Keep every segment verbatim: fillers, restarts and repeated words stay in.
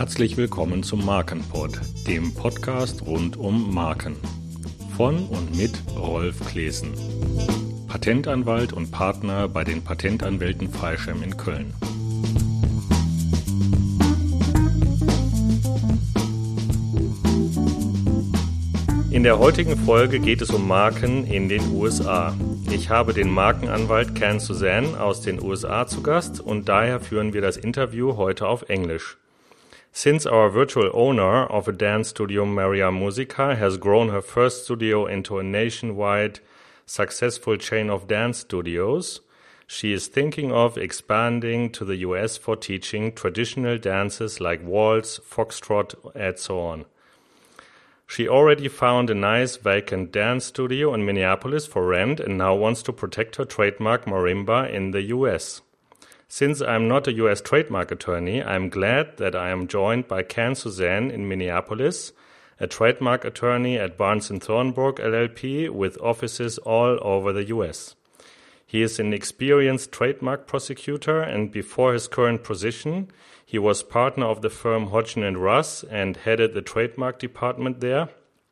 Herzlich willkommen zum Markenpod, dem Podcast rund um Marken. Von und mit Rolf Klesen, Patentanwalt und Partner bei den Patentanwälten Freischem in Köln. In der heutigen Folge geht es um Marken in den U S A. Ich habe den Markenanwalt Ken Suzanne aus den U S A zu Gast und daher führen wir das Interview heute auf Englisch. Since our virtual owner of a dance studio, Maria Musica, has grown her first studio into a nationwide successful chain of dance studios, she is thinking of expanding to the U S for teaching traditional dances like waltz, foxtrot, and so on. She already found a nice vacant dance studio in Minneapolis for rent and now wants to protect her trademark marimba in the U S. Since I'm not a U S trademark attorney, I'm glad that I am joined by Ken Suzanne in Minneapolis, a trademark attorney at Barnes and Thornburg L L P with offices all over the U S. He is an experienced trademark prosecutor, and before his current position, he was partner of the firm Hodgson and Russ and headed the trademark department there.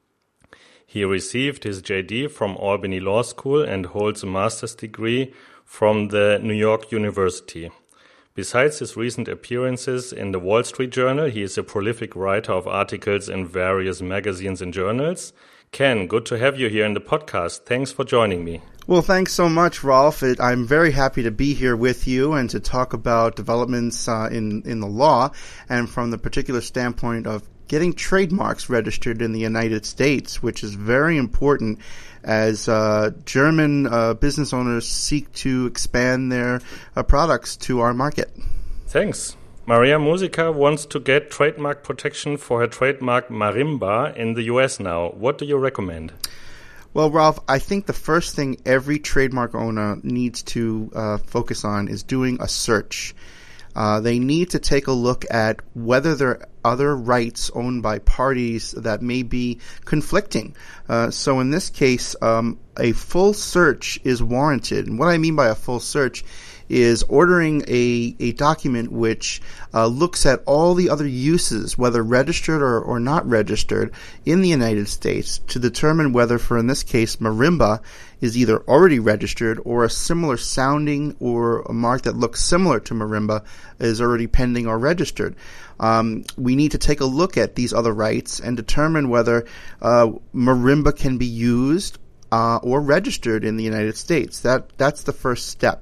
He received his J D from Albany Law School and holds a master's degree from the New York University. Besides his recent appearances in the Wall Street Journal, he is a prolific writer of articles in various magazines and journals. Ken, good to have you here in the podcast. Thanks for joining me. Well, thanks so much, Rolf. It, I'm very happy to be here with you and to talk about developments uh, in, in the law and from the particular standpoint of getting trademarks registered in the United States, which is very important as uh, German uh, business owners seek to expand their uh, products to our market. Thanks. Maria Musica wants to get trademark protection for her trademark marimba in the U S now. What do you recommend? Well, Ralph, I think the first thing every trademark owner needs to uh, focus on is doing a search. Uh, they need to take a look at whether there are other rights owned by parties that may be conflicting. Uh, so in this case, um, a full search is warranted. And what I mean by a full search is ordering a, a document which uh, looks at all the other uses, whether registered or, or not registered, in the United States to determine whether, for in this case, marimba is either already registered or a similar sounding or a mark that looks similar to marimba is already pending or registered. Um, we need to take a look at these other rights and determine whether uh, marimba can be used uh, or registered in the United States. That that's the first step.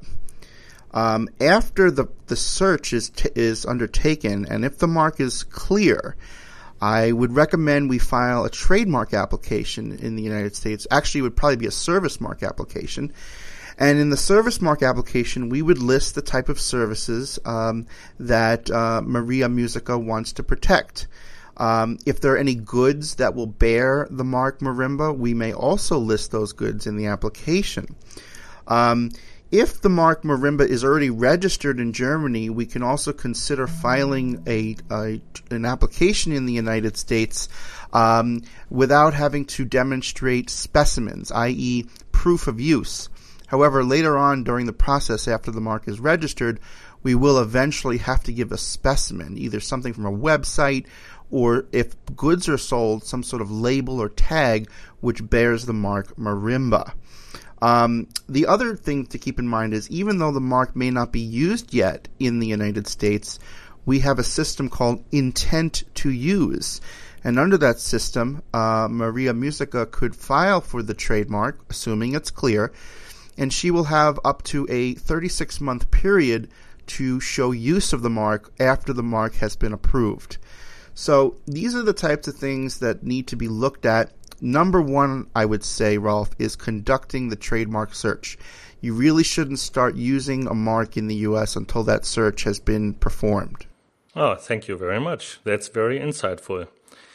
Um, after the, the search is t- is undertaken, and if the mark is clear, I would recommend we file a trademark application in the United States. Actually, it would probably be a service mark application. And in the service mark application, we would list the type of services um, that uh, Maria Musica wants to protect. Um, if there are any goods that will bear the mark marimba, we may also list those goods in the application. Um, If the mark marimba is already registered in Germany, we can also consider filing a, a an application in the United States um, without having to demonstrate specimens, that is proof of use. However, later on during the process after the mark is registered, we will eventually have to give a specimen, either something from a website or if goods are sold, some sort of label or tag which bears the mark marimba. Um, the other thing to keep in mind is even though the mark may not be used yet in the United States, we have a system called intent to use. And under that system, uh, Maria Musica could file for the trademark, assuming it's clear, and she will have up to a thirty-six month period to show use of the mark after the mark has been approved. So these are the types of things that need to be looked at. Number one, I would say, Rolf, is conducting the trademark search. You really shouldn't start using a mark in the U S until that search has been performed. Oh, thank you very much. That's very insightful.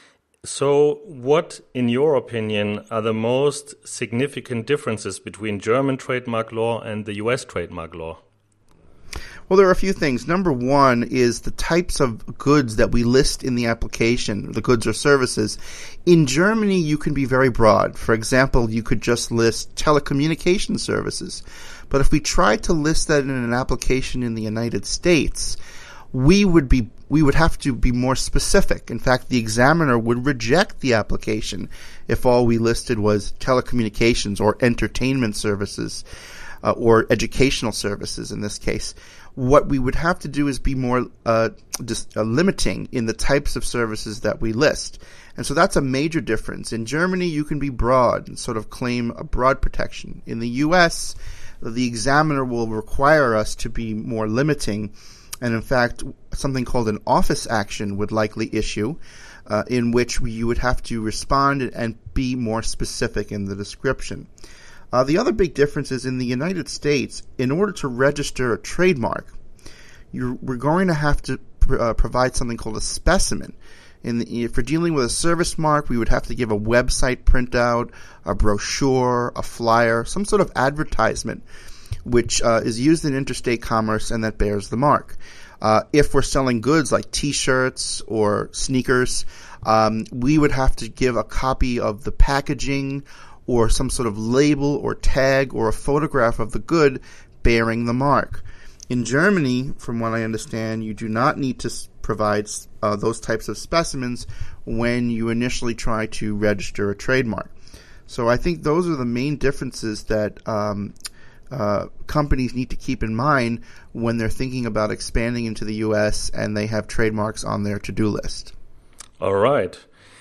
So what, in your opinion, are the most significant differences between German trademark law and the U S trademark law? Well, there are a few things. Number one is the types of goods that we list in the application, the goods or services. In Germany, you can be very broad. For example, you could just list telecommunication services. But if we try to list that in an application in the United States, we would be we would have to be more specific. In fact, the examiner would reject the application if all we listed was telecommunications or entertainment services uh, or educational services in this case. What we would have to do is be more uh, just, uh, limiting in the types of services that we list. And so that's a major difference. In Germany, you can be broad and sort of claim a broad protection. In the U S, the examiner will require us to be more limiting. And in fact, something called an office action would likely issue, uh, in which we, you would have to respond and be more specific in the description. Uh, the other big difference is in the United States, in order to register a trademark, you're, we're going to have to pr- uh, provide something called a specimen. In the, if we're dealing with a service mark, we would have to give a website printout, a brochure, a flyer, some sort of advertisement, which uh, is used in interstate commerce and that bears the mark. Uh, if we're selling goods like T-shirts or sneakers, um, we would have to give a copy of the packaging or some sort of label or tag or a photograph of the good bearing the mark. In Germany, from what I understand, you do not need to provide uh, those types of specimens when you initially try to register a trademark. So I think those are the main differences that um, uh, companies need to keep in mind when they're thinking about expanding into the U S and they have trademarks on their to-do list. All right.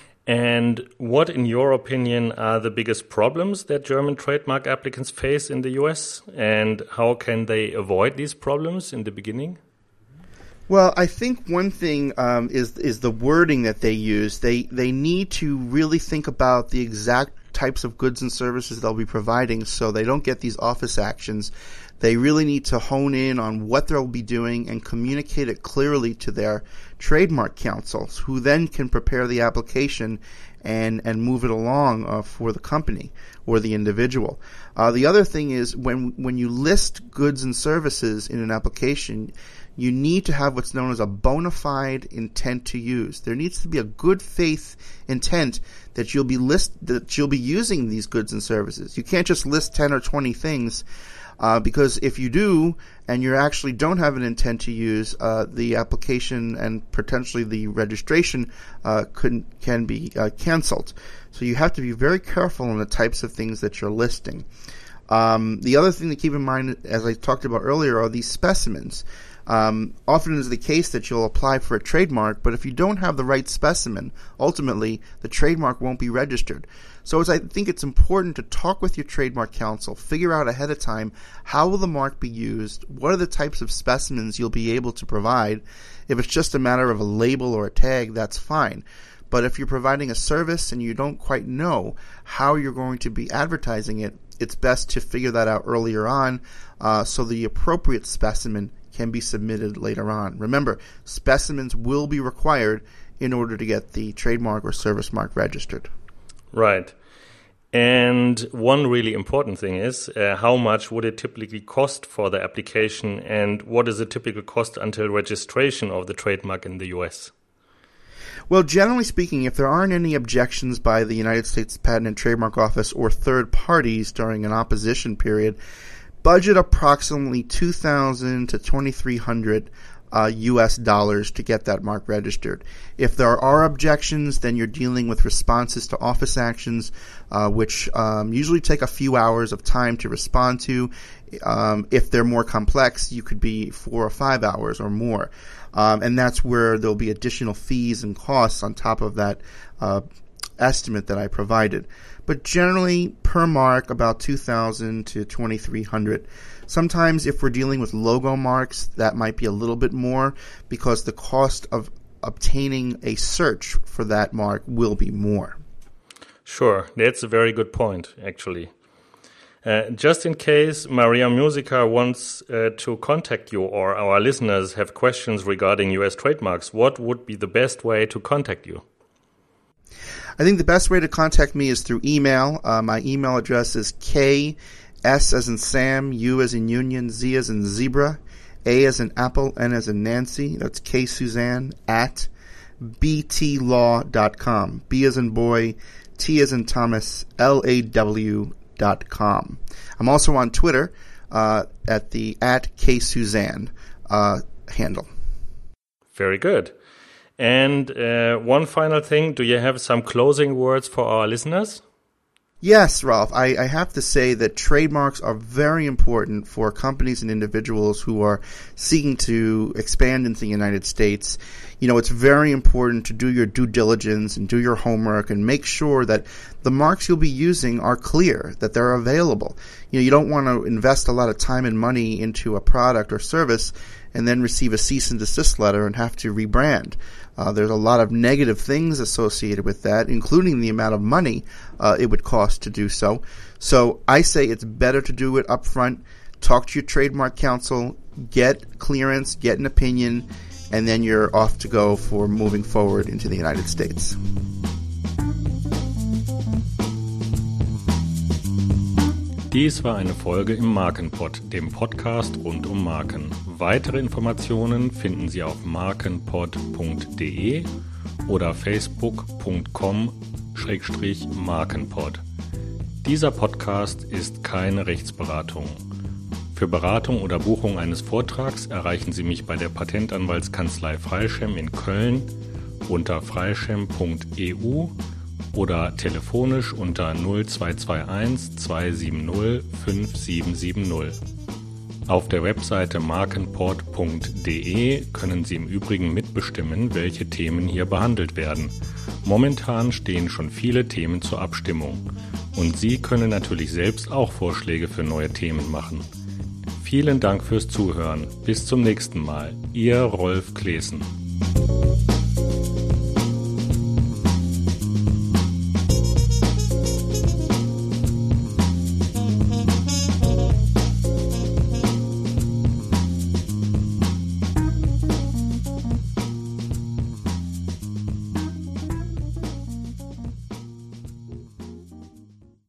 And what, in your opinion, are the biggest problems that German trademark applicants face in the U S? And how can they avoid these problems in the beginning? Well, I think one thing um, is is the wording that they use. They they need to really think about the exact types of goods and services they'll be providing so they don't get these office actions. They really need to hone in on what they'll be doing and communicate it clearly to their trademark counsels, who then can prepare the application and and move it along uh, for the company or the individual. Uh, the other thing is when when you list goods and services in an application, you need to have what's known as a bona fide intent to use. There needs to be a good faith intent that you'll be list that you'll be using these goods and services. You can't just list ten or twenty things. Uh, because if you do, and you actually don't have an intent to use, uh, the application and potentially the registration uh, could, can be uh, canceled. So you have to be very careful on the types of things that you're listing. Um, the other thing to keep in mind, as I talked about earlier, are these specimens. Um, often is the case that you'll apply for a trademark, but if you don't have the right specimen, ultimately the trademark won't be registered. So as I think it's important to talk with your trademark counsel, figure out ahead of time how will the mark be used, what are the types of specimens you'll be able to provide. If it's just a matter of a label or a tag, that's fine. But if you're providing a service and you don't quite know how you're going to be advertising it, it's best to figure that out earlier on uh, so the appropriate specimen can be submitted later on. Remember, specimens will be required in order to get the trademark or service mark registered. Right. And one really important thing is uh, how much would it typically cost for the application, and what is the typical cost until registration of the trademark in the U S? Well, generally speaking, if there aren't any objections by the United States Patent and Trademark Office or third parties during an opposition period, budget approximately two thousand to twenty-three hundred uh, U S dollars to get that mark registered. If there are objections, then you're dealing with responses to office actions, uh, which um, usually take a few hours of time to respond to. Um, if they're more complex, you could be four or five hours or more. Um, and that's where there'll be additional fees and costs on top of that uh, estimate that I provided. But generally, per mark, about two thousand to twenty-three hundred. Sometimes if we're dealing with logo marks, that might be a little bit more because the cost of obtaining a search for that mark will be more. Sure, that's a very good point, actually. Uh, just in case Maria Musica wants uh, to contact you or our listeners have questions regarding U S trademarks, what would be the best way to contact you? I think the best way to contact me is through email. Uh, my email address is K, S as in Sam, U as in Union, Z as in Zebra, A as in Apple, N as in Nancy. That's K Suzanne at b t law dot com. B as in boy, T as in Thomas, L A W dot com. I'm also on Twitter uh, at the at K Suzanne uh, handle. Very good. And uh, one final thing, do you have some closing words for our listeners? Yes, Ralph. I, I have to say that trademarks are very important for companies and individuals who are seeking to expand into the United States. You know, it's very important to do your due diligence and do your homework and make sure that the marks you'll be using are clear, that they're available. You know, you don't want to invest a lot of time and money into a product or service and then receive a cease and desist letter and have to rebrand. Uh, there's a lot of negative things associated with that, including the amount of money uh, it would cost to do so. So I say it's better to do it up front. Talk to your trademark counsel, get clearance, get an opinion, and then you're off to go for moving forward into the United States. Dies war eine Folge im Markenpod, dem Podcast rund um Marken. Weitere Informationen finden Sie auf markenpod punkt de oder facebook punkt com schrägstrich markenpod. Dieser Podcast ist keine Rechtsberatung. Für Beratung oder Buchung eines Vortrags erreichen Sie mich bei der Patentanwaltskanzlei Freischem in Köln unter freischem punkt e u oder telefonisch unter null zwei zwei eins zwei sieben null fünf sieben sieben null. Auf der Webseite markenpod punkt de können Sie im Übrigen mitbestimmen, welche Themen hier behandelt werden. Momentan stehen schon viele Themen zur Abstimmung. Und Sie können natürlich selbst auch Vorschläge für neue Themen machen. Vielen Dank fürs Zuhören. Bis zum nächsten Mal. Ihr Rolf Claessen.